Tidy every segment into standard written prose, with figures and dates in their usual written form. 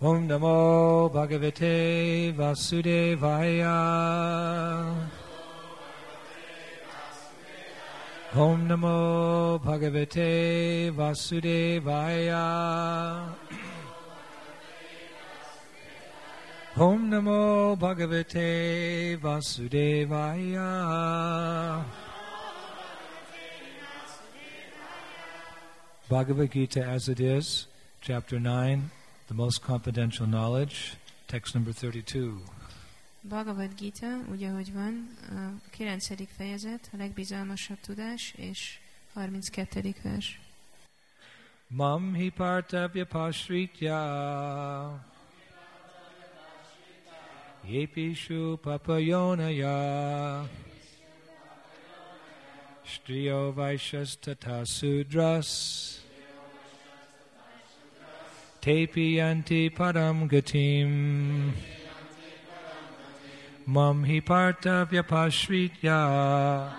Om Namo Bhagavate Vasudevaya. Om Namo Bhagavate Vasudevaya. Om Namo Bhagavate Vasudevaya. Bhagavad Gita as it is, chapter 9, the most confidential knowledge, text number 32. Bhagavad Gita, úgy ahogy van, a 9. fejezet, a legbizalmasabb tudás, és 32. vers. Mam hi partavya pasritya yepishu papayonaya striyo vaishas tata sudras tepi yanti param gatim mam hi partavya pasritya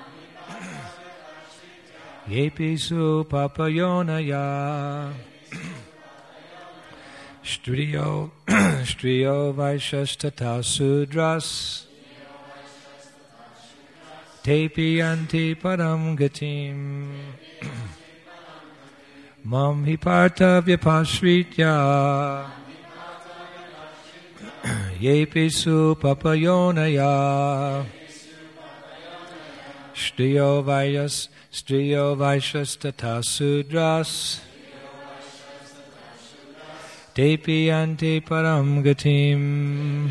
yepisu papayonaya striyo vaishas tata sudras tepi yanti param gatim mam hi partavya pasritya yepisu papayonaya striyo vaishas tata sudras tepi yanti param gatim.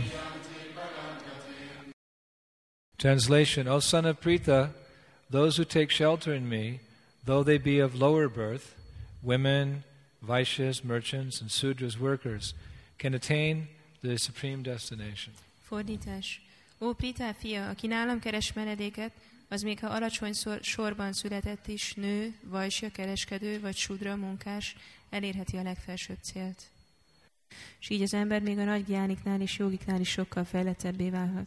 Translation: O son of Pritha, those who take shelter in me, though they be of lower birth, women, Vaishyas, merchants, and Sudras, workers, can attain the supreme destination. Fordítás. Ó Pritha fia, aki nálam keres menedéket, az még ha alacsony sorban született is, nő, vajsja, kereskedő vagy sudra, munkás, elérheti a legfelsőbb célt. És így az ember még a nagy gyániknál és jogiknál is sokkal fejlettebbé válhat.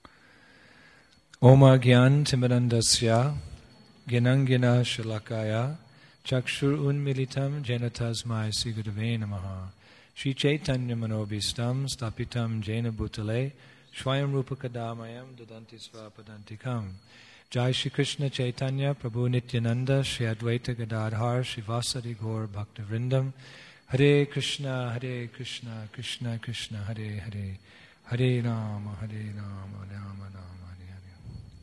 Oma gyan timirandasya ginangina shalakaya chakshur unmilitam janatasmai sigurave namaha Shri Chaitanya manobhistam stapitam jena bhutale swayam rupa kadamayam dadanti svapadantikam. Jai Shri Krishna Chaitanya Prabhu Nityananda Shri Advaita Gadadhar Shri Vasari Gaur Bhaktavrindam. Hare Krishna Krishna Krishna Hare Hare Hare Rama Rama Rama Hare Hare.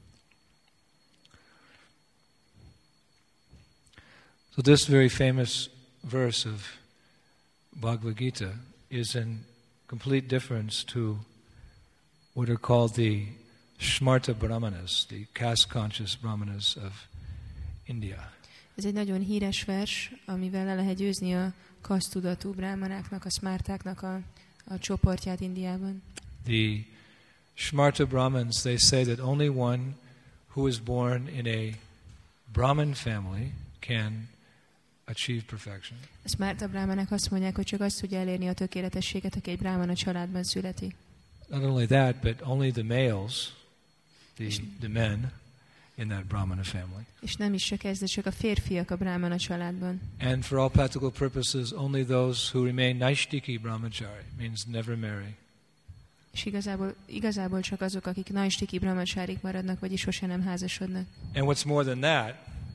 So this very famous verse of Bhagavad Gita is in complete difference to what are called the Shmarta Brahmanas, the caste-conscious Brahmanas of India. Ez egy nagyon híres vers, amivel le lehet győzni a kasztudatú brahmanáknak, a smártáknak a csoportját Indiában. The Shmarta Brahmins, they say that only one who is born in a Brahmin family can achieve perfection. A smárta brahmanák azt mondják, hogy csak azt tudja elérni a tökéletességet, aki egy brahmana családban születik. Not only that, but only the males, the men in that Brahmana family. És nem is csak ez, de csak a férfiak a brahmana családban. And for all practical purposes, only those who remain Naishtiki Brahmachari, means never marry. És igazából csak azok, akik Naishtiki brahmacharik maradnak, vagyis sose nem házasodnak. And what's more than that,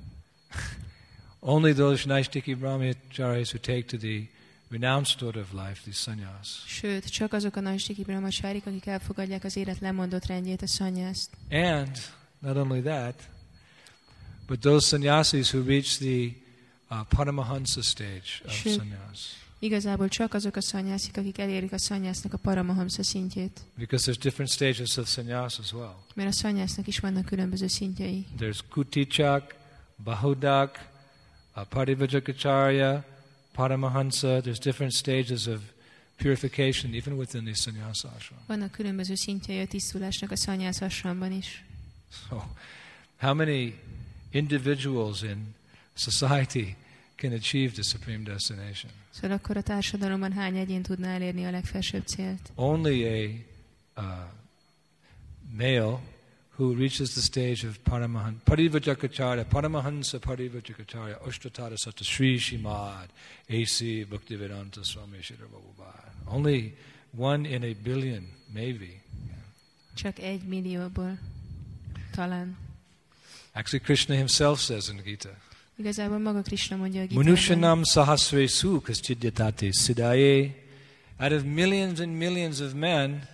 only those Naishtiki Brahmacharis who take to the renounced order of life, the sannyas. Sőt, csak azok a Naishtiki brahmacharik, akik elfogadják az élet lemondott rendjét, a sannyászt. And not only that, but those sannyasis who reach the Paramahansa stage of sannyas. Igazából csak azok a szannyászik, akik elérik a szannyásznak a Paramahamsa szintjét. Because there's different stages of sannyas as well. Mert a szannyásznak is vannak különböző szintjei. There's Kutichak, Bahudak, Parivajakacharya, Paramahansa. There's different stages of purification even within the sannyas ashram. Vannak különböző szintjei a tisztulásnak a szannyász ashramban is. So, how many individuals in society can achieve the supreme destination? Szóval akkor a társadalomban hány egyén tudna elérni a legfelsőbb célt? Only a male who reaches the stage of Parivajakacarya, Paramahansa Parivajakacarya, Ashtatara Sata Sri Shimad, A.C. Bhaktivedanta Swami Shri Prabhupada. Only 1 in a billion, maybe. Csak 1 millióból talán. Actually, Krishna himself says in Gita, Igazából maga Krishna mondja a Gitában. Manushanam sahasresu kaschidyatate siddhaye. Out of millions and millions of men,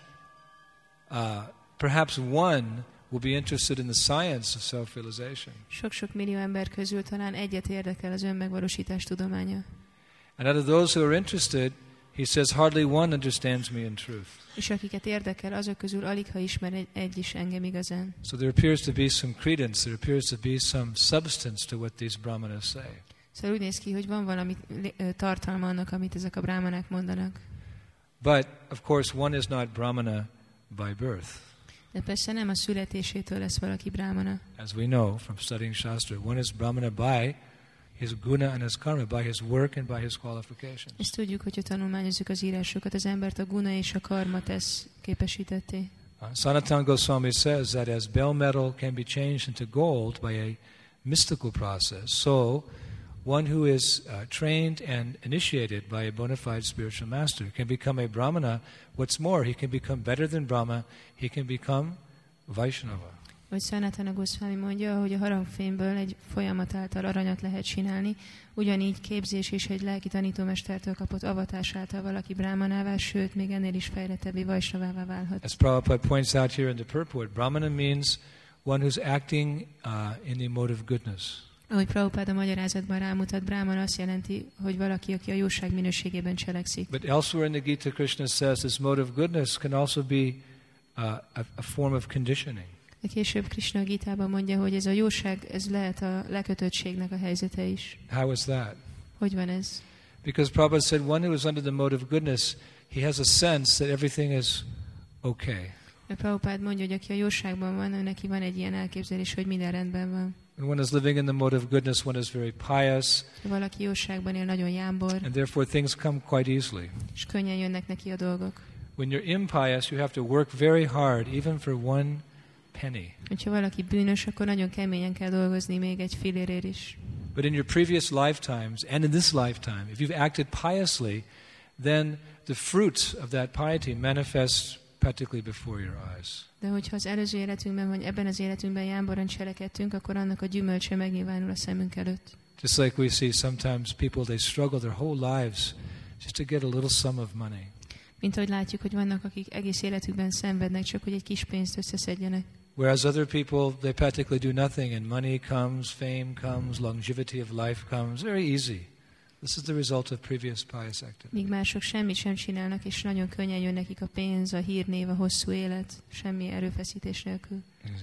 perhaps one will be interested in the science of self-realization. Sok-sok millió ember közül talán egyet érdekel az önmegvalósítás tudománya. And out of those who are interested, he says, hardly one understands me in truth. És akiket érdekel, azok közül alig ha ismer egy is engem igazán. So there appears to be some credence, there appears to be some substance to what these brahmanas say. Szóval úgy néz ki, hogy van valami tartalma annak, amit ezek a brahmanák mondanak. But, of course, one is not brahmana by birth. De persze nem a születésétől lesz valaki brahmana. As we know from studying Shastra, one is brahmana by his guna and his karma, by his work and by his qualifications. Ezt tudjuk, hogyha tanulmányozzuk az írásokat, az embert a guna és a karma tesz képesítetté. Sanatana Goswami says that as bell metal can be changed into gold by a mystical process, so one who is trained and initiated by a bona fide spiritual master can become a brahmana. What's more, he can become better than Brahma, he can become Vaishnava. Hogy Sanatana Goswami mondja, hogy a harangfémből egy folyamat által aranyat lehet csinálni, ugyanígy képzés és egy lelki tanítómestertől kapott avatás által valaki brahmanává, sőt, még ennél is fejlettebbé Vaishnavává válhat. As Prabhupada points out here in the purport, brahmana means one who's acting in the mode of goodness. Ahogy Prabhupada a magyarázatban rámutat, brahmana azt jelenti, hogy valaki, aki a jóság minőségében cselekszik. But elsewhere in the Gita, Krishna says this mode of goodness can also be a form of conditioning. De később Krishna a Gitában mondja, hogy ez a jóság, ez lehet a lekötöttségnek a helyzete is. How is that? Hogy van ez? Because Prabhupada said one who is under the mode of goodness, he has a sense that everything is okay. A Prabhupada mondja, hogy aki a jóságban van, neki van egy ilyen elképzelés, hogy minden rendben van. When one is living in the mode of goodness, one is very pious. Valaki jóságban él, nagyon jámbor. And therefore things come quite easily. És könnyen jönnek neki a dolgok. When you're impious, you have to work very hard, even for one penny. Ha valaki bűnös, akkor nagyon keményen kell dolgozni, még egy fillérért is. But in your previous lifetimes and in this lifetime, if you've acted piously, then the fruits of that piety manifest practically before your eyes. De hogyha az előző életünkben, vagy ebben az életünkben jámboran cselekedtünk, akkor annak a gyümölcse megnyilvánul a szemünk előtt. Just like we see sometimes people, they struggle their whole lives just to get a little sum of money. Mint ahogy látjuk, hogy vannak, akik egész életükben szenvednek, csak hogy egy kis pénzt összeszedjenek. Whereas other people, they practically do nothing and money comes, fame comes, longevity of life comes, very easy. This is the result of previous pious activity. Míg mások semmit sem csinálnak, és nagyon könnyen jön nekik a pénz, a hírnév, a hosszú élet, semmi erőfeszítés nélkül.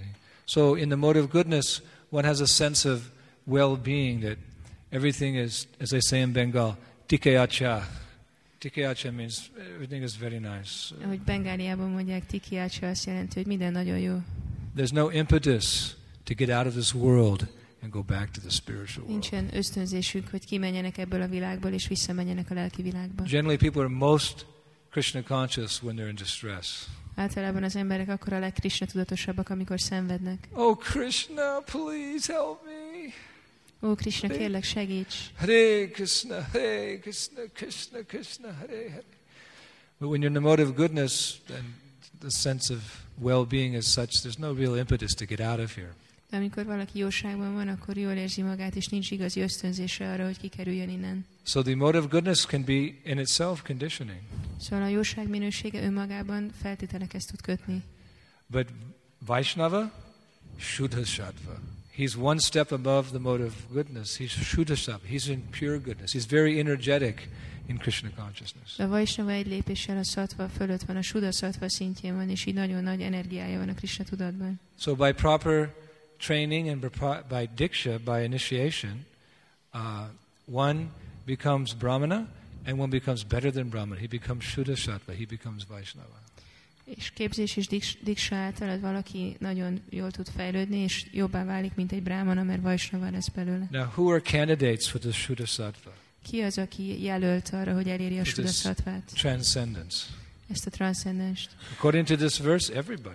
So in the mode of goodness, one has a sense of well-being, that everything is, as they say in Bengal, tikeacha. Tikeacha means everything is very nice. Ahogy Bengáliában mondják, tikeacha azt jelenti, hogy minden nagyon jó. There's no impetus to get out of this world and go back to the spiritual world. Nincsen ösztönzésük, hogy kimenjenek ebből a világból és visszamenjenek a lelki világba. Generally, people are most Krishna conscious when they're in distress. Általában az emberek akkor a legkrishna tudatosabbak, amikor szenvednek. Oh Krishna, please help me. Ó Krishna, kérlek segíts. Hare Krishna, Hare Krishna, Krishna Krishna, Hare Hare. But when you're in the mode of goodness, then the sense of well-being is such, there's no real impetus to get out of here. De amikor valaki jóságban van, akkor jól érzi magát, és nincs igazi ösztönzése arra, hogy kikerüljön innen. So the mode of goodness can be in itself conditioning. Szóval a jóság minősége önmagában feltételekhez tud kötni. But Vaishnava, Shuddha Sattva. He's one step above the mode of goodness. He's Shuddha Sattva. He's in pure goodness. He's very energetic in Krishna consciousness. A Vaishnava egy lépéssel a sattva fölött van, a Shuddha Sattva szintjén van, és így nagyon nagy energiája van a Krishna tudatban. So by proper training and by diksha, by initiation, one becomes Brahmana and one becomes better than Brahmana. He becomes Shuddha Sattva. He becomes Vaishnava. És képzés és diksa által valaki nagyon jól tud fejlődni, és jobbá válik, mint egy brahmana, mert Vaishnava lesz belőle. Now, who are candidates for the Shuddha Sattva? Ki az, aki jelölt arra, hogy eléri a Shuddha Sattvát? Transcendence. Ezt a transzcendenst. According to this verse, everybody.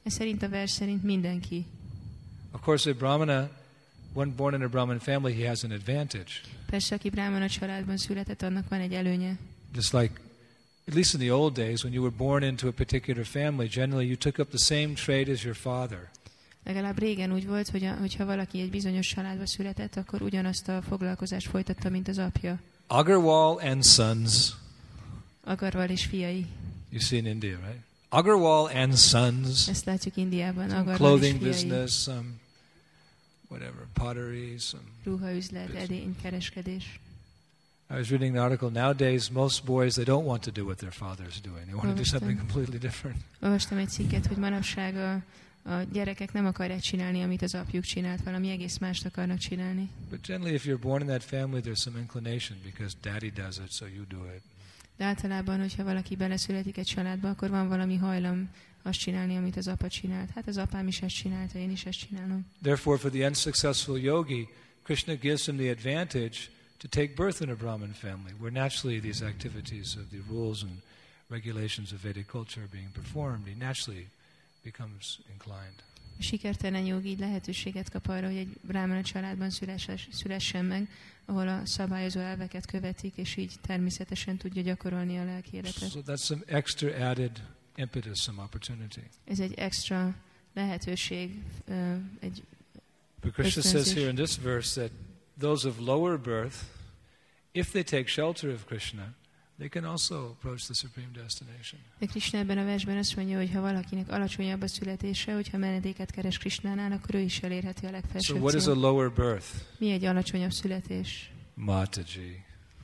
Ez szerint a vers szerint mindenki. Of course, a Brahmana, one born in a Brahmin family, he has an advantage. Persze, aki brahmana családban született, annak van egy előnye. Just like, at least in the old days, when you were born into a particular family, generally you took up the same trade as your father. Legalább régen úgy volt, hogyha valaki egy bizonyos családba született, akkor ugyanazt a foglalkozást folytatta, mint az apja. Agarwal and sons. Agarwal és fiai. You see in India, right? Agarwal and sons. Ezt látjuk Indiában. Agarwal és Clothing fiai. business, some whatever, pottery, some Ruhaüzlet, edénykereskedés. I was reading an article. Nowadays, most boys, they don't want to do what their father's doing. They want to do something completely different. Olvastam egy cikket, hogy manapság a gyerekek nem akarják csinálni, amit az apjuk csinált, valami egész mást akarnak csinálni. But generally, if you're born in that family, there's some inclination because daddy does it, so you do it. De általában, hogyha valaki beleszületik egy családba, akkor van valami hajlam azt csinálni, amit az apa csinált. Hát az apám is ezt csinálta, én is ezt csinálom. Therefore, for the unsuccessful yogi, Krishna gives him the advantage to take birth in a Brahmin family, where naturally these activities of the rules and regulations of Vedic culture are being performed. He naturally becomes inclined. A sikertelen jogi így lehetőséget kap arra, hogy egy brahmana családban szülessen meg, ahol a szabályozó elveket követik, és így természetesen tudja gyakorolni a lelki életet. So that's some extra added impetus, some opportunity. Ez egy extra lehetőség, egy But Krishna says here in this verse that those of lower birth, if they take shelter of Krishna, they can also approach the supreme destination. De Krishna ebben a versben azt mondja, hogy ha valakinek alacsonyabb a születése, hogyha menedéket keres Krishnánál, akkor ő is elérheti a legfelsőbb So what is a lower birth? Mi egy alacsonyabb születés? Mataji.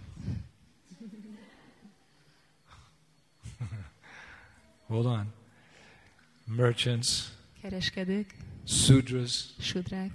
Hold on. Merchants. Kereskedők. Sudras. Sudrák.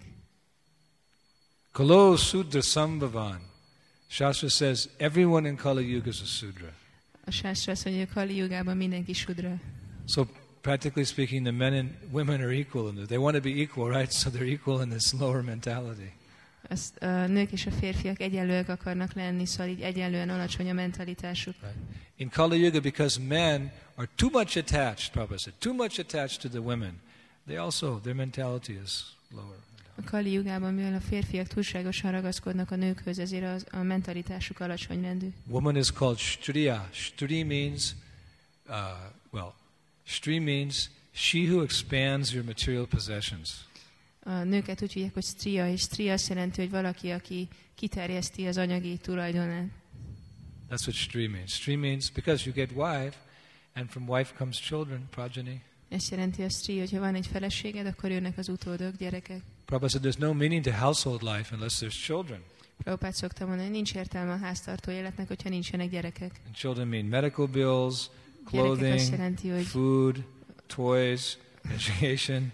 Kalo Sudra Sambhavan. Shastra says everyone in Kali Yuga is a Sudra. A Shastra azt mondja, hogy Kali Yugában mindenki Sudra. So practically speaking, the men and women are equal in this. They want to be equal, right? So they're equal in this lower mentality. A nők és a férfiak egyenlőek akarnak lenni, szóval így egyenlően alacsony a mentalitásuk. Right. In Kali Yuga, because men are too much attached, Prabhupada said, too much attached to the women, they also, their mentality is lower. A Kali Yugában, mivel a férfiak túlságosan ragaszkodnak a nőkhöz, ezért a mentalitásuk alacsony rendű. Woman is called Striya. Stri means, Stri means she who expands your material possessions. A nőket úgy hívják, hogy Striya, és Striya azt jelenti, hogy valaki, aki kiterjeszti az anyagi tulajdonát. That's what Stri means. Stri means because you get wife, and from wife comes children, progeny. Ezt jelenti a Stri, hogyha van egy feleséged, akkor jönnek az utódok, gyerekek. Prabhupada said there's no meaning to household life unless there's children. Prabhupád szokta mondani, hogy nincs értelme a háztartó életnek, hogyha nincsenek gyerekek. And children mean medical bills, Gyerekek azt clothing, jelenti, hogy food, toys, education.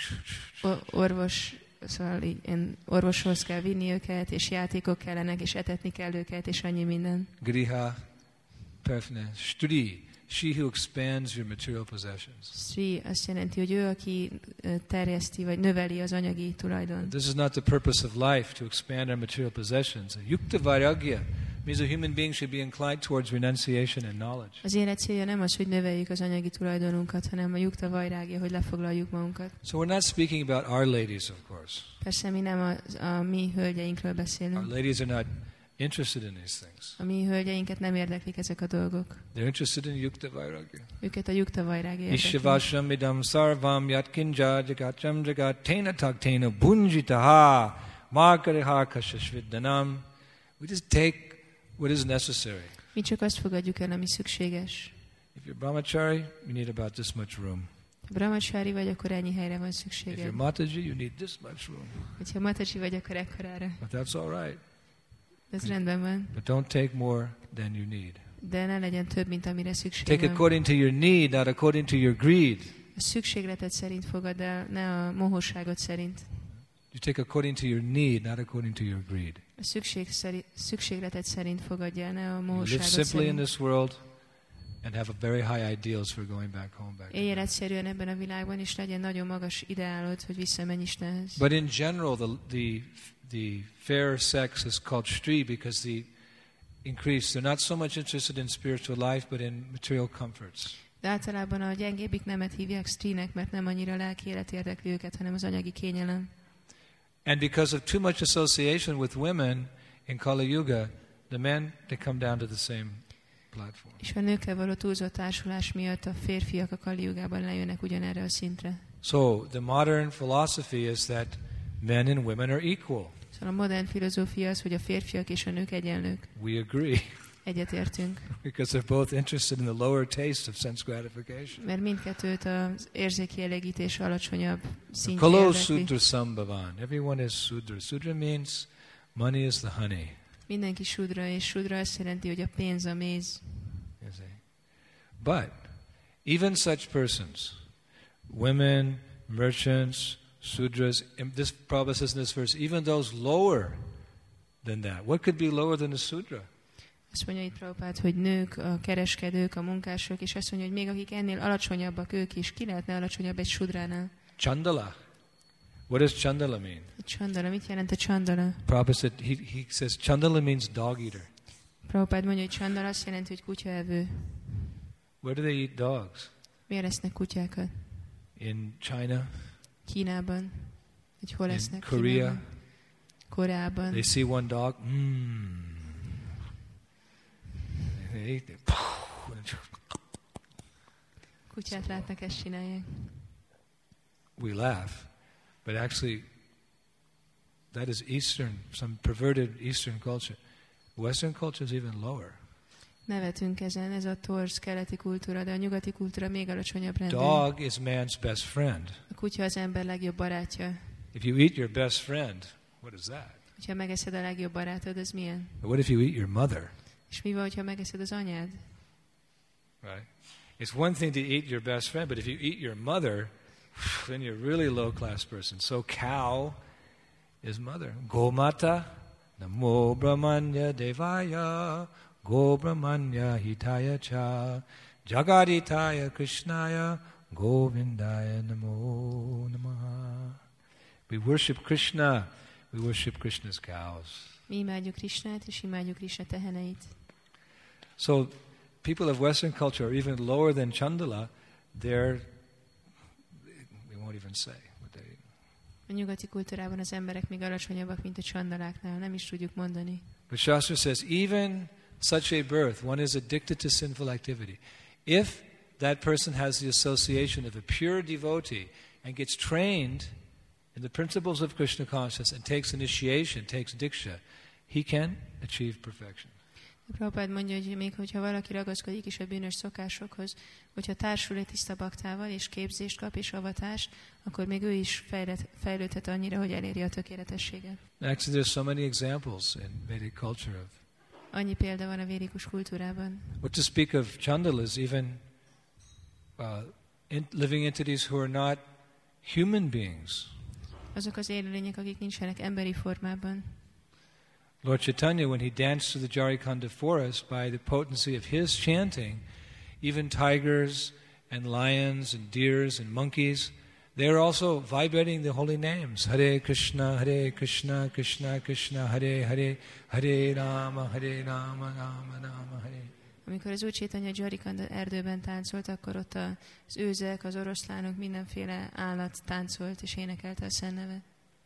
szóval orvoshoz kell vinni őket, és játékok kellenek, és etetni kell őket, és annyi minden. Griha, paraphernalia. Stri, she who expands your material possessions. Stri azt jelenti, hogy ő, aki terjeszti, vagy növeli az anyagi tulajdon. This is not the purpose of life, to expand our material possessions. Yukta vairagya means a human being should be inclined towards renunciation and knowledge. Az élet célja nem az, hogy növeljük az anyagi tulajdonunkat, hanem a yukta vajrágya, hogy lefoglaljuk magunkat. So we're not speaking about our ladies, of course. Persze mi nem a mi hölgyeinkről Our beszélünk. ladies are not interested in these things. A mi hölgyeinket nem érdeklik ezek a dolgok. They're interested in yukta vairagya. Őket a yukta vajrágya érdekli. Ishvasham idam sarvam yatkinja jagacham jagat tena taktena bunjitaha markariha kashashviddanam. We just take what is necessary. Mi csak azt fogadjuk el, ami szükséges. If you're brahmachari, you need about this much room. Ha brahmachari vagy, akkor ennyi helyre van If szükséged. you're mataji, you need this much room. Ha mataji vagy, akkor ekkorára. But that's all right. Ez rendben van. But don't take more than you need. De ne legyen több, mint amire szükség Take van. according to your need, not according to your greed. A szükségletet szerint fogad el, ne a mohóságot szerint. You take according to your need, not according to your greed. A szükségletet szerint fogadja el, ne a You live mohóságot simply in szerint. this world and have a very high ideals for going back home. Éljél egyszerűen ebben a világban, és legyen nagyon magas ideálod, hogy visszamenj Istenhez. But in general, the fair sex is called Stri because they're not so much interested in spiritual life, but in material comforts. De általában a gyengébbik nemet hívják strínek, mert nem annyira lelki élet érdekli őket, hanem az anyagi kényelem. And because of too much association with women in Kali Yuga, the men, they come down to the same platform. És a nőkkel való túlzott társulás miatt a férfiak a Kali Jugában lejönnek ugyanerre a szintre. So the modern philosophy is that men and women are equal. Szóval a modern filozófia az, hogy a férfiak és a nők egyenlők. We agree. Egyetértünk. Because they're both interested in the lower taste of sense gratification. Mert mindkettőt az érzéki elégítés alacsonyabb szintje Kalo érdekli. Sudra Sambhavan. Everyone is Sudra. Sudra means money is the honey. Mindenki sudra, és sudra azt jelenti, hogy a pénz a méz. You see. But even such persons, women, merchants, Sudras, this Prabhupada says in this verse, even those lower than that. What could be lower than a Sudra? Azt mondja itt Prabhupád, hogy nők, a kereskedők, a munkások, és azt mondja, hogy még akik ennél alacsonyabbak ők is, ki lehetne alacsonyabb egy sudránál? Chandala. What does Chandala mean? A Chandala, mit jelent a Chandala? Prabhupada said, he says Chandala means dog eater. Prabhupád mondja, hogy Chandala azt jelenti, hogy kutyaevő. Where do they eat dogs? Miért esznek kutyákat? In China? Kínában? Hogy hol In esznek? Korea? Kínában? Koreában? They see one dog, They eat it. Kutyát látnak, ezt csinálják. We laugh, but actually that is Eastern, some perverted Eastern culture. Western culture is even lower. Nevetünk ezen, ez a torz keleti kultúra, de a nyugati kultúra még alacsonyabb rendű. Dog is man's best friend. A kutya az ember legjobb barátja. If you eat your best friend, what is that? Ha megeszed a legjobb barátod, az milyen? What if you eat your mother? És mi van, ha megeszed az anyád? Right? It's one thing to eat your best friend, but if you eat your mother, then you're really low class person. So cow is mother. Gomata, namo brahmanya devaya, go brahmanya hitaya cha, jagaditaya krishnaya, govindaya namo namaha. We worship Krishna. We worship Krishna's cows. Mi imádjuk Krisnát, és imádjuk Krisna teheneit. So people of Western culture are even lower than Chandala. We won't even say what they eat. A nyugati kultúrában az emberek még alacsonyabbak, mint a csandaláknál. Nem is tudjuk mondani. But Shastra says, even such a birth, one is addicted to sinful activity. If that person has the association of a pure devotee and gets trained in the principles of Krishna consciousness and takes initiation, takes diksha, he can achieve perfection. Prabhupád mondja, hogy még hogyha valaki ragaszkodik is a bűnös szokásokhoz, hogyha társul egy tiszta baktával, és képzést kap, és avatást, akkor még ő is fejlődhet annyira, hogy eléri a tökéletességet. Actually, there's so many examples in Vedic culture of. Annyi példa van a védikus kultúrában. What to speak of Chandalas, even living entities who are not human beings. Azok az élőlények, akik nincsenek emberi formában. Lord Chaitanya, when he danced through the Jarikhanda forest, by the potency of his chanting, even tigers and lions and deers and monkeys, they are also vibrating the holy names. Hare Krishna, Krishna Krishna, Hare Hare, Hare Rama, Rama Rama, Hare. Amikor az Úr Chaitanya Jarikhanda erdőben táncolt, akkor ott az őzek, az oroszlánok, mindenféle állat táncolt és énekelte a Szent nevet.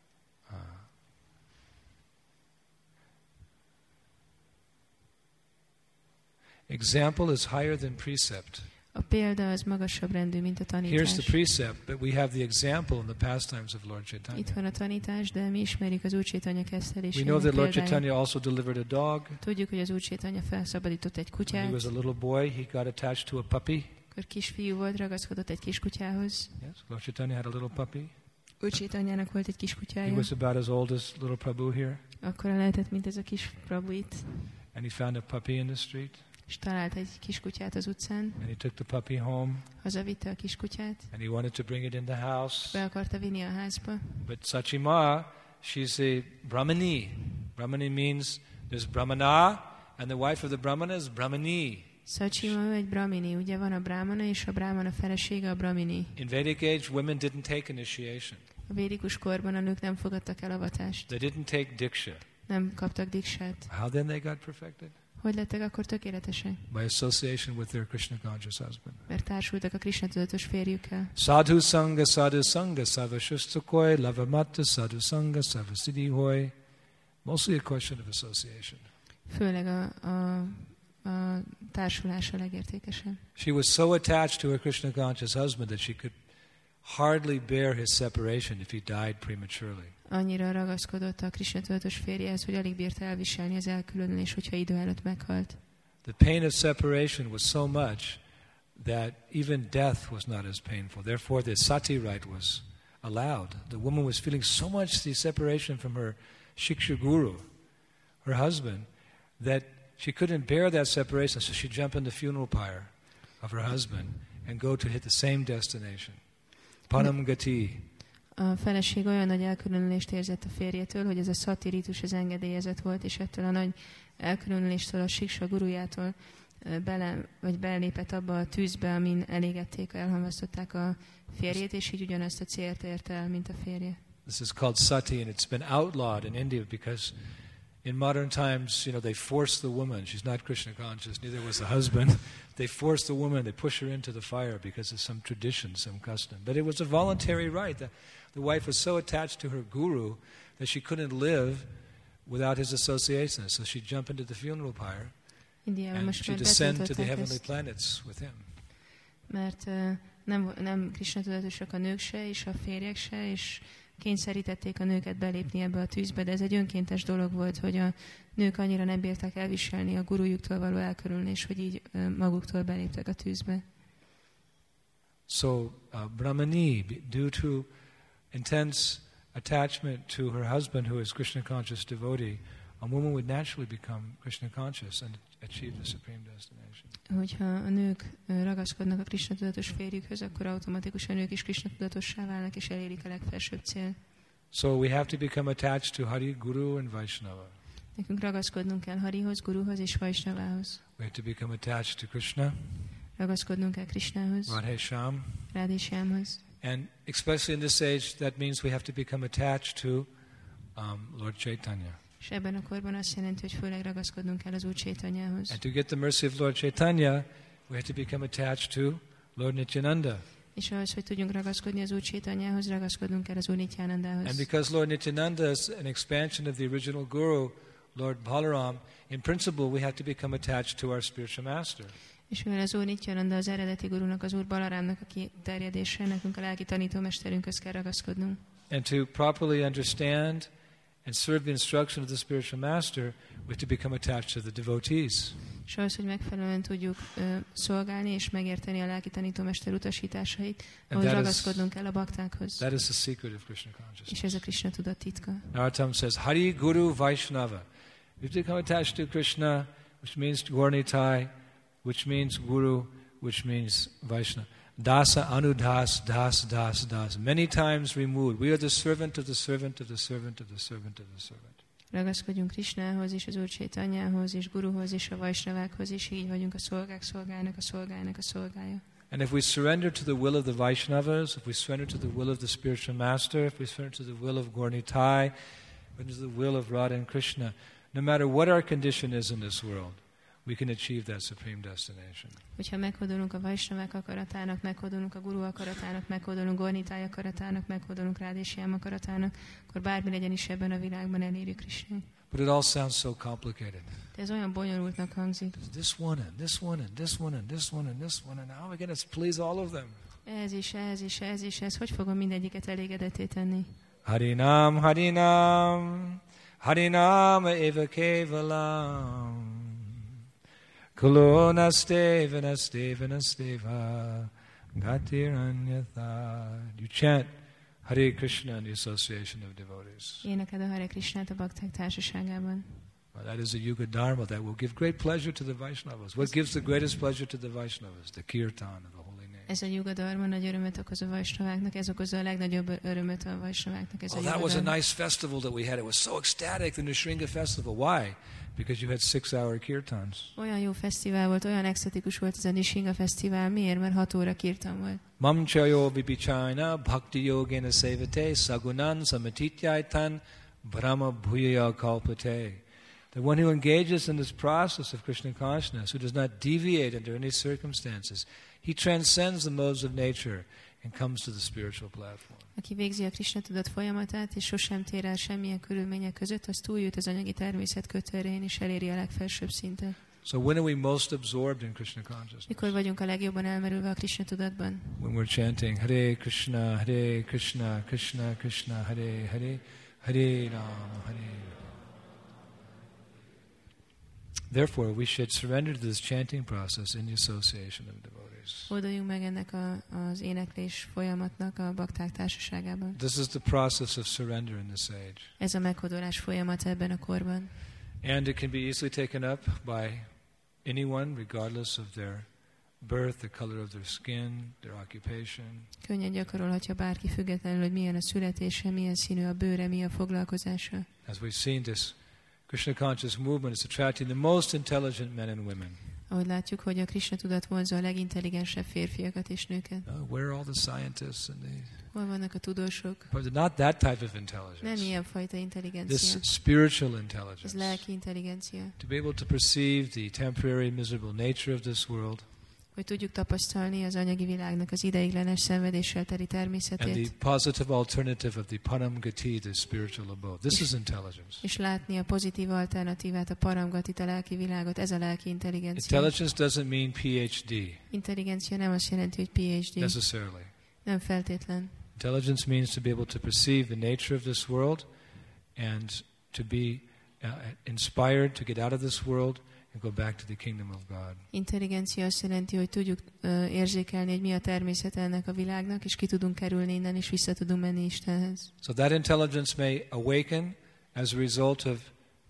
Example is higher than precept. A példa az magasabb rendű, mint a tanítás. Here's the precept, but we have the example in the pastimes of Lord Chaitanya. Itt van a tanítás, de mi ismerjük az Úr Chaitanya We kezdelésének know that Lord példáját. Chaitanya also delivered a dog. Tudjuk, hogy az Úr Chaitanya felszabadított egy When he kutyát. was a little boy, he got attached to a puppy. Akkor kisfiú volt, ragaszkodott egy kiskutyához. Yes, Lord Chaitanya had a little puppy. Úr Chaitanyának volt egy kiskutyája. He was about as old as little Prabhu here. Akkor lehetett, mint ez a kis Prabhu itt. And he found a puppy in the street. És talált egy kiskutyát az utcán. And he took the puppy home. Hazavitte a kiskutyát. And he wanted to bring it in the house. Be akarta vinni a házba. But Sachima, she's a Brahmani. Brahmani means there's Brahmana, and the wife of the Brahmana is Brahmani. Sachima, ő egy brahmini. Ugye van a brahmana, és a brahmana felesége a brahmini. In Vedic age, women didn't take initiation. A védikus korban a nők nem fogadtak el avatást. They didn't take diksha. Nem kaptak diksát. How then they got perfected? Hogy lettek akkor tökéletesek? By association with their Krishna conscious husband. Mert társultak a Krishna tudatos férjükkel. Sadhu sanga savashustakoy lavamatta sadhu sanga savasiddhi hoy. Mostly a question of association. Főleg a társulás a legértékesebb. She was so attached to her Krishna conscious husband that she could hardly bear his separation if he died prematurely. Annyira ragaszkodott a Krishna tudatos férjehez, hogy alig bírta elviselni az elkülönülés, hogyha idő előtt meghalt. The pain of separation was so much that even death was not as painful. Therefore, the sati rite was allowed. The woman was feeling so much the separation from her Shiksha guru, her husband, that she couldn't bear that separation, so she'd jump in the funeral pyre of her husband and go to hit the same destination. Param Gati. A feleség olyan nagy elkülönülést érzett a férjétől, hogy ez a szati rítus az engedélyezett volt, és ettől a nagy elkülönüléstől a Siksa gurujától belépett abba a tűzbe, amin elégették, elhamvasztották a férjét, és így ugyanazt a célt érte el, mint a férje. This is called sati, and it's been outlawed in India because in modern times, they force the woman. She's not Krishna conscious, neither was the husband. They force the woman, they push her into the fire because of some tradition, some custom. But it was a voluntary right. The wife was so attached to her guru that she couldn't live without his association. So she'd jump into the funeral pyre and she'd descend to the heavenly planets with him. Mert nem Krishna tudatosak a nők se, és a férjek se, és kényszerítették a nőket belépni ebbe a tűzbe, de ez egy önkéntes dolog volt, hogy a nők annyira nem bírták elviselni a gurujuktól való elkülönülés, hogy így maguktól beléptek a tűzbe. So Brahmani, due to intense attachment to her husband, who is Krishna conscious devotee, a woman would naturally become Krishna conscious and achieve the supreme destination. Hogyha a nők ragaszkodnak a Krishna tudatos férjükhöz, akkor automatikusan ők is Krishna tudatossá válnak és elérik a legfelsőbb cél. So we have to become attached to Hari, Guru and Vaishnava. Nekünk ragaszkodnunk kell Harihoz, Guruhoz és Vaishnavához. We have to become attached to Krishna. Ragaszkodnunk kell Krishnához. Radhe Shyam. Radhe Shyamhoz. And especially in this age, that means we have to become attached to Lord Chaitanya. És ebben a korban azt jelenti, hogy főleg ragaszkodnunk kell az Úr Chaitanyához. And to get the mercy of Lord Chaitanya, we have to become attached to Lord Nityananda. És ahhoz, hogy tudjunk ragaszkodni az Úr Chaitanyához, ragaszkodnunk kell az Úr Nityanandához. And because Lord Nityananda is an expansion of the original Guru, Lord Balaram, in principle we have to become attached to our spiritual master. És mivel az Úr Nityananda az eredeti gurunak, az Úr Balarámnak a kiterjedése, nekünk a lelki tanítómesterünkhöz kell ragaszkodnunk. And to properly understand and serve the instruction of the spiritual master, we have to become attached to the devotees. És ahhoz, hogy megfelelően tudjuk szolgálni és megérteni a lelki tanítómester utasításait, ahhoz ragaszkodnunk kell a baktákhoz. That is the secret of Krishna consciousness. És ez a Krishna tudat titka. Narottam says, Hari, Guru, Vaishnava. We have to become attached to Krishna, which means Gaurnitai, which means Guru, which means Vaishnava. Dasa, Anudas, Das, Das, Das. Many times removed. We are the servant of the servant of the servant of the servant of the servant. Ragaszkodjunk Krishnához, és az Úr Chaitanyához, és Guruhoz, és a Vaishnavákhoz, és így vagyunk a szolgák szolgájának, a szolgájának a szolgája. And if we surrender to the will of the Vaishnavas, if we surrender to the will of the spiritual master, if we surrender to the will of Gaurnitai, to the will of Radha and Krishna, no matter what our condition is in this world, we can achieve that supreme destination. Hogyha meghódolunk a Vaishnavák akaratának, meghódolunk a Guru akaratának, meghódolunk Gaurnitai akaratának, meghódolunk Radha Shyam akaratának, akkor bármi legyen is ebben a világban elérjük Krishnát. But it all sounds so complicated. De ez olyan bonyolultnak hangzik. This one and this one and this one and this one and this one and how am I going to please all of them? Ez is, ez is, ez is, ez. Hogy fogom mindegyiket elégedetté tenni? Harinam, Harinam, Harinam eva kevalam. Kulo nasteva, nasteva, nasteva, gatiranyatha. You chant Hare Krishna in the association of devotees. Énekeld a Hare Krishnát a bakták társaságában. That is a Yuga Dharma that will give great pleasure to the Vaishnavas. What gives the greatest pleasure to the Vaishnavas? The kirtan of the holy name. Ez a Yuga Dharma nagy örömet okoz a Vaishnaváknak, ez okozza a legnagyobb örömet a Vaishnaváknak, ez a Yuga That was Dharma. a nice festival that we had. It was so ecstatic, the Nrsimha festival. Why? Because you had 6-hour kirtans. Olyan jó fesztivál volt, olyan exotikus volt ez a Nrsimha fesztivál. Miért? Mert 6 óra kirtan volt. Mam chayo vipichayana bhakti yogena sevate sagunan samatityaitan brahma bhuyaya kalpate. The one who engages in this process of Krishna consciousness, who does not deviate under any circumstances, he transcends the modes of nature and comes to the spiritual platform. Aki végzi a Krishna tudat folyamatát, és sosem tér el semmilyen körülmények között, az túljut az anyagi természet kötőerején, és eléri a legfelsőbb szintet. So when are we most absorbed in Krishna consciousness? Mikor vagyunk a legjobban elmerülve a Krishna tudatban? When we're chanting Hare Krishna, Krishna Krishna, Hare Hare, Hare Rama, Hare. Therefore, we should surrender to this chanting process in the association of devotees. Olduljunk meg ennek az éneklés folyamatnak a bakták társaságában. This is the process of surrender in this age. Ez a meghódolás folyamat ebben a korban. And it can be easily taken up by anyone, regardless of their birth, the color of their skin, their occupation. Könnyen gyakorolhatja bárki, függetlenül, hogy milyen a születése, milyen színű a bőre, mi a foglalkozása. As we've seen, this Krishna conscious movement is attracting the most intelligent men and women. Ahogy látjuk, hogy a Krishna tudat vonzza a legintelligensebb férfiakat és nőket. Where are all the scientists and Hol vannak a tudósok? not that type of intelligence. Nem ilyen fajta This intelligencia. spiritual Ez intelligence. lelki intelligencia. To be able to perceive the temporary miserable nature of this world Hogy tudjuk tapasztalni az anyagi világnak az ideiglenes szenvedéssel teri and the természetét, positive alternative of the Param Gati, the spiritual abode. This is intelligence. és látni a pozitív alternatívát, a paramgatit, a lelki világot. Ez a lelki intelligencia. Intelligence doesn't mean PhD Intelligencia nem azt jelenti, hogy PhD. necessarily. Nem feltétlen. Intelligence means to be able to perceive the nature of this world and to be inspired to get out of this world and go back to the kingdom of God. Intelligencia azt jelenti, hogy tudjuk érzékelni, hogy mi a természet ennek a világnak, és ki tudunk kerülni innen, és vissza tudunk menni Istenhez. So that intelligence may awaken as a result of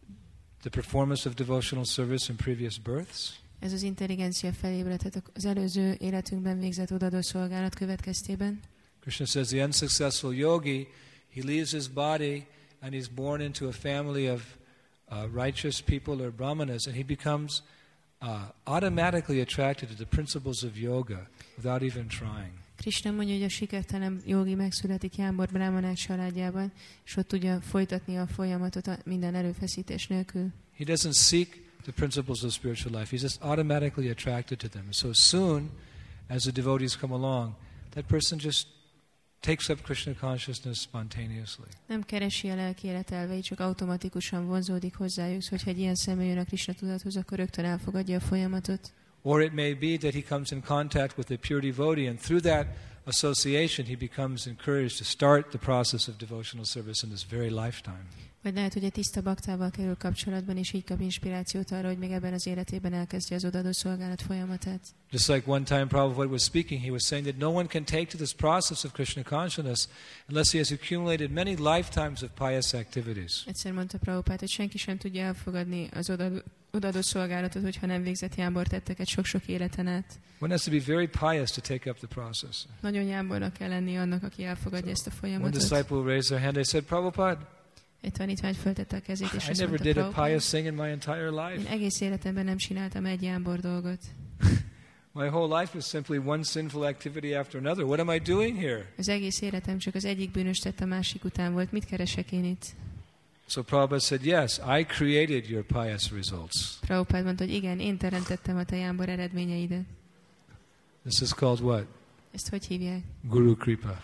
the performance of devotional service in previous births. Ez az intelligencia felébredhet az előző életünkben végzett odadó szolgálat következtében. Krishna says the unsuccessful yogi, he leaves his body and he's born into a family of righteous people or brahmanas, and he becomes automatically attracted to the principles of yoga without even trying. Krishna mondja, hogy a sikertelen jogi megszületik Jámbor brámanák családjában, és ott tudja folytatni a folyamatot minden erőfeszítés nélkül. He doesn't seek the principles of spiritual life. He's just automatically attracted to them. And so soon as the devotees come along, that person just takes up Krishna consciousness spontaneously. Nem keresi a lelki élet elveit, csak automatikusan vonzódik hozzájuk, hogyha egy ilyen személy jön a Krishna tudathoz, akkor rögtön elfogadja a folyamatot. Or it may be that he comes in contact with a pure devotee, and through that association he becomes encouraged to start the process of devotional service in this very lifetime. Vagy lehet, hogy egy tiszta baktával kerül kapcsolatban, és így kap inspirációt arra, hogy még ebben az életében elkezdje az odaadó szolgálat folyamatát. Just like one time Prabhupada was speaking, he was saying that no one can take to this process of Krishna consciousness unless he has accumulated many lifetimes of pious activities. Egyszer mondta Prabhupád, hogy senki sem tudja elfogadni az odaadó szolgálatot, hogyha nem végzett jámbor tetteket sok-sok életen át. One has to be very pious to take up the process. Nagyon jámbornak kell lenni annak, aki elfogadja ezt a One folyamatot. disciple raised their hand, they said, Prabhupada, Egy tanítvány föltette a kezét, és I azt never mondta, did a Prabhupád, pious thing in my entire én life. egész életemben nem csináltam egy jámbor dolgot. My whole life was simply one sinful activity after another. What am I doing here? Az egész életem csak az egyik bűnös tett a másik után volt. Mit keresek én itt? So Prabhupada said, yes, I created your pious results. Prabhupád mondta, hogy igen, én teremtettem a te jámbor eredményeidet. This is called what? Ezt hogy hívják? Guru Kripa.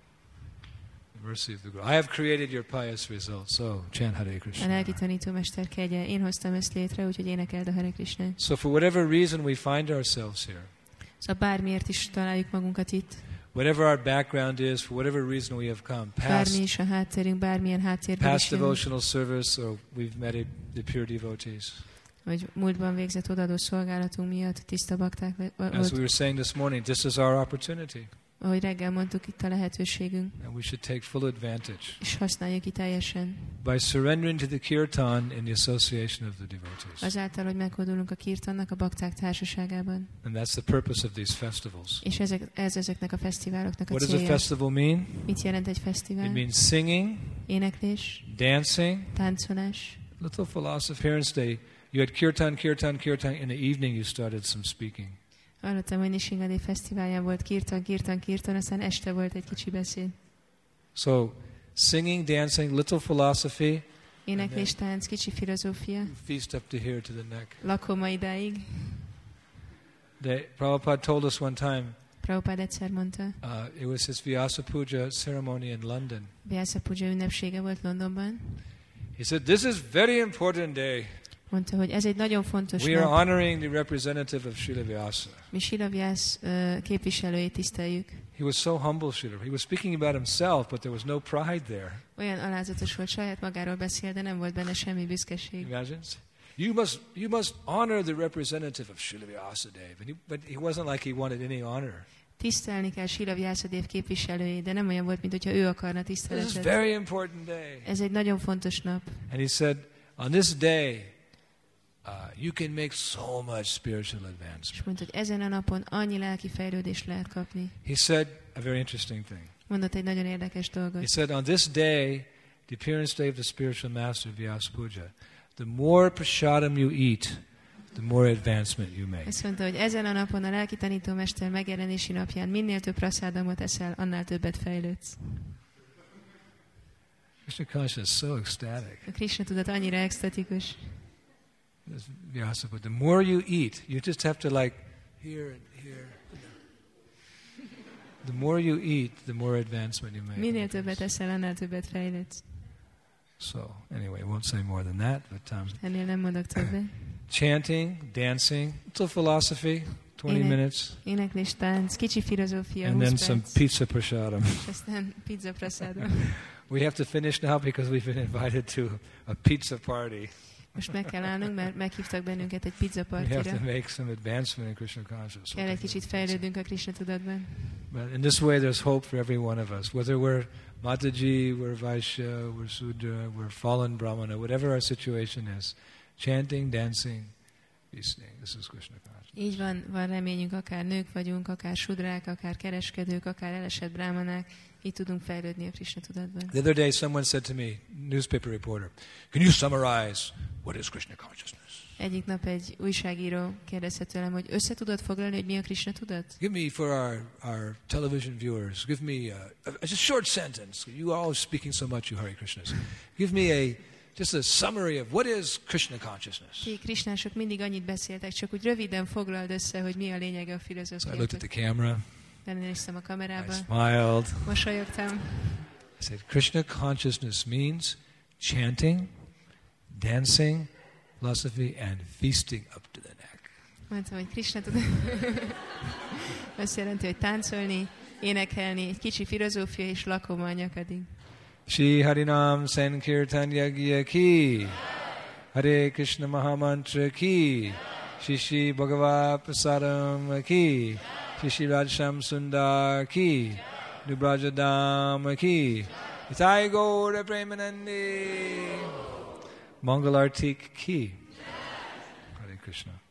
The mercy of the Guru. I have created your pious results. So chant Hare A Krishna. lelki tanítómester kegye. Én hoztam ezt létre, úgyhogy énekeld a Hare Krishna. So for whatever reason we find ourselves here, Szóval bármiért is találjuk magunkat itt, whatever our background is, for whatever reason we have come, bármi is a hátterünk, bármilyen háttérből past is jövünk, devotional service, or we've met the pure devotees. vagy múltban végzett odadó szolgálatunk miatt tiszta bakták As we volt. were saying this morning, this is our opportunity, Ahogy reggel mondtuk, itt a lehetőségünk, and we should take full advantage és használjuk ki teljesen. by surrendering to the kirtan in the association of the devotees. Azáltal, hogy meghódulunk a kirtannak a bakták társaságában. And that's the purpose of these festivals. És ez ezeknek a fesztiváloknak a What does a célja. festival mean? Mit jelent egy fesztivál? It means singing, Éneklés, dancing. táncolás. Little philosophy. Parents, you had kirtan. In the evening you started some speaking. Hallottam, hogy Nishingadé fesztiválján volt kirtan, aztán este volt egy kicsi beszéd. So, singing, dancing, little philosophy, Éneklés, tánc, kicsi filozófia. Feast up to here to the neck. Lakoma idáig. Prabhupada told us one time, Prabhupada egyszer mondta, it was his Vyasa Puja ceremony in London. Vyasa Puja ünnepsége volt Londonban. He said, this is very important day. Mondta, hogy ez egy nagyon fontos We are nap. honoring the representative of Srila Vyasa. Mi Srila Vyas képviselőjét tiszteljük. He was so humble, Srila. He was speaking about himself, but there was no pride there. Olyan alázatos volt, saját magáról beszél, de nem volt benne semmi büszkeség. Imagine? You must honor the representative of Srila Vyasadeva. But he wasn't like he wanted any honor. Tisztelni kell Srila Vyasadeva képviselőjét, de nem olyan volt, mint hogyha ő akarna This is a tiszteletet. very important day. Ez egy nagyon fontos nap. And he said, on this day, you can make so much spiritual advancement. És mondta, hogy ezen a napon annyi lelki fejlődést lehet kapni. He said a very interesting thing. Mondott egy nagyon érdekes He dolgot. said, on this day, the appearance day of the spiritual master of Vyasa Puja, the more prasadam you eat, the more advancement you make. Azt mondta, hogy ezen a napon a lelki tanítómester megjelenési napján minél több prasadamot eszel, annál többet fejlődsz. Krishna consciousness is so ecstatic. A Krishna tudat annyira extatikus. Vyasa Puja. The more you eat, you just have to like here and here. The more you eat, the more advancement you make. Minél többet eszel, annál többet fejlődsz. So, anyway, I won't say more than that, but Ennél nem mondok többet. chanting, dancing, it's a philosophy, 20 minutes, Éneklés, tánc, kicsi filozófia, and 20 then perc, some pizza prasadam. és aztán pizza prasadam. We have to finish now because we've been invited to a pizza party. Most meg kell állnunk, mert meghívtak bennünket egy pizza We have to partira. make some advancement in Krishna consciousness. Kell egy kicsit fejlődünk a Krishna tudatban. But in this way, there's hope for every one of us. Whether we're Mataji, we're Vaishya, we're Sudra, we're fallen Brahmana, whatever our situation is, chanting, dancing, feasting. This is Krishna consciousness. Így van reményünk, akár nők vagyunk, akár sudrák, akár kereskedők, akár elesett brámanák, így tudunk fejlődni a Krishna tudatban. The other day, someone said to me, newspaper reporter, can you summarize what is Krishna consciousness? Egyik nap egy újságíró kérdezte tőlem, hogy össze tudod foglalni, hogy mi a Krishna tudat? Give me, for our television viewers, give me a short sentence. You are all speaking so much, you Hare Krishnas. Give me just a summary of what is Krishna consciousness. Ti krisnások mindig annyit beszéltek, csak úgy röviden foglald össze, hogy mi a lényege a So I filozófiának. looked at the camera, Lenéztem a I kamerába, smiled. mosolyogtam. I said, Krishna consciousness means chanting, dancing, philosophy, and feasting up to the neck. Mondtam, hogy Krishna tudat azt jelenti, hogy táncolni, énekelni, egy kicsi filozófia és lakoma a nyakadig. Shri Harinam Sankirtan Yagya ki, Hare Krishna Mahamantra ki, Shri Shri Bhagavad Prasadam ki, Shri Shri Radhasham Sundar ki, Nubrajadam ki, Ithai Gaura Premanandi, Mangalartik ki. Hare Krishna.